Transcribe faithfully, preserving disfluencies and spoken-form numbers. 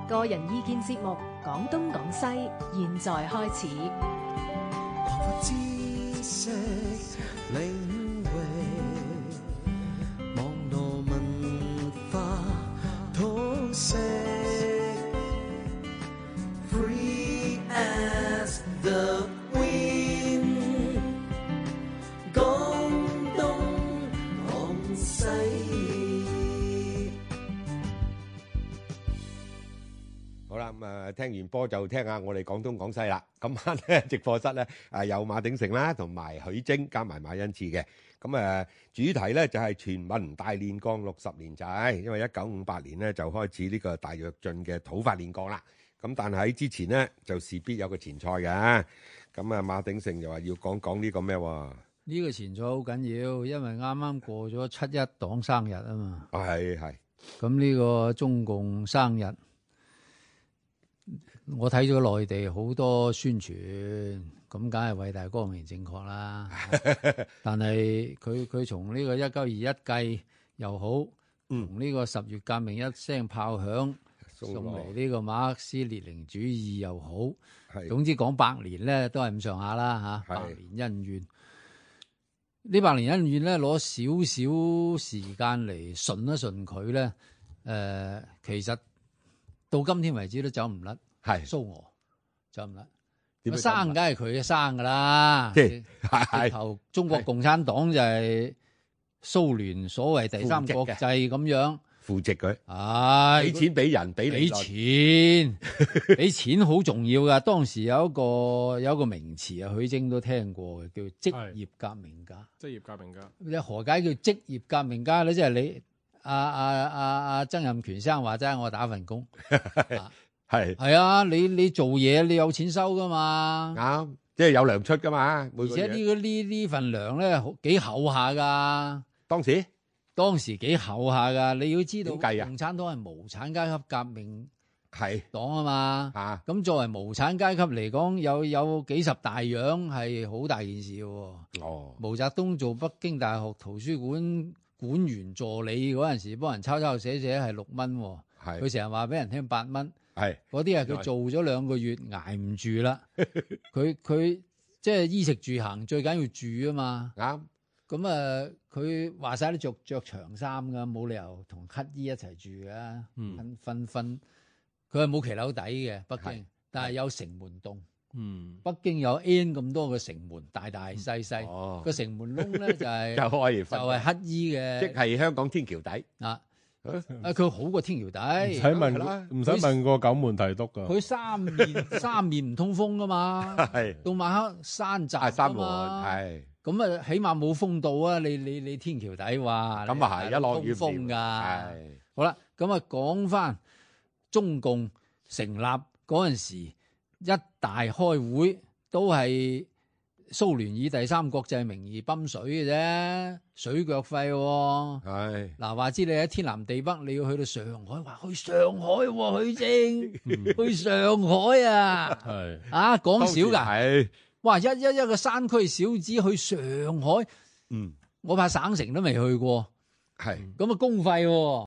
個人意見節目《講東講西》，現在開始。 擴闊知識領域，網絡文化通識 ，Free as the wind， 講東講西。 好啦，咁啊，聽完波就聽下我哋廣東廣西啦。今晚咧直播室咧啊有馬鼎盛啦，同埋許晶加埋馬恩賜嘅。咁啊主題咧就係全民大煉鋼六十年祭，因為一九五八年咧就開始呢個大躍進嘅土法煉鋼啦。咁但係喺之前咧就事必有個前賽嘅。咁啊馬鼎盛又話要講講呢個咩喎？ 呢個前賽好緊要，因為啱啱過咗七一黨生日啊嘛。 啊係係。 咁呢個中共生日。我睇咗內地好多宣傳，咁梗係偉大光明正確啦。但係佢佢從呢個一九二一計又好，從呢個十月革命一聲炮響送嚟呢個馬克思列寧主義又好，總之講百年咧都係咁上下啦嚇。百年恩怨，呢百年恩怨咧攞少少時間嚟順一順佢咧，誒、呃、其實到今天為止都走唔甩。係蘇俄走唔甩，生梗係佢嘅生噶啦。即係直頭中國共產黨就係蘇聯所謂第三國際咁樣扶植佢， 唉， 俾錢俾人俾俾錢，俾錢好重要噶。當時有一個有一個名詞啊，許晶都聽過嘅，叫職業革命家。 職業革命家， 你何解叫職業革命家咧？即係你阿阿阿阿曾蔭權生話齋，我打份工。 係係啊，你你做嘢你有錢收噶嘛？ 啱，即係有糧出噶嘛。 而且呢個呢呢份糧咧幾厚下噶。 當時當時幾厚下噶，你要知道， 點計啊？ 共產黨係無產階級革命係黨啊嘛。 啊， 咁作為無產階級嚟講，有有幾十大洋係好大件事嘅。 哦， 毛澤東做北京大學圖書館館員助理嗰陣時，幫人抄抄寫寫係六蚊，佢成日話俾人聽八蚊。係嗰啲係佢做咗兩個月捱唔住啦，佢佢即係衣食住行最緊要住啊嘛。啱咁啊，佢話晒都着着長衫噶，冇理由同乞衣一齊住噶。分分分，佢係冇騎樓底嘅北京，但係有城門洞。嗯，北京有 N 咁多個城門，大大細細。哦，個城門窿咧就係就係就係乞衣嘅， 即係香港天橋底啊。啊！佢好過天橋底， 唔使問，唔使問過九門提督噶。 佢三面三面唔通風噶嘛，係到晚黑山閘山門係咁啊，起碼冇風度啊！你你你天橋底話咁啊係一落雨風噶，係好啦。咁啊，講翻中共成立嗰陣時，一大開會都係蘇聯以第三國際名義泵水嘅啫，水腳費喎。係嗱，話知你喺天南地北，你要去到上海，話去上海喎，許晶，去上海啊，係啊，講少噶，係哇，一一一個山區小子去上海，嗯，我怕省城都未去過，係咁啊，公費喎。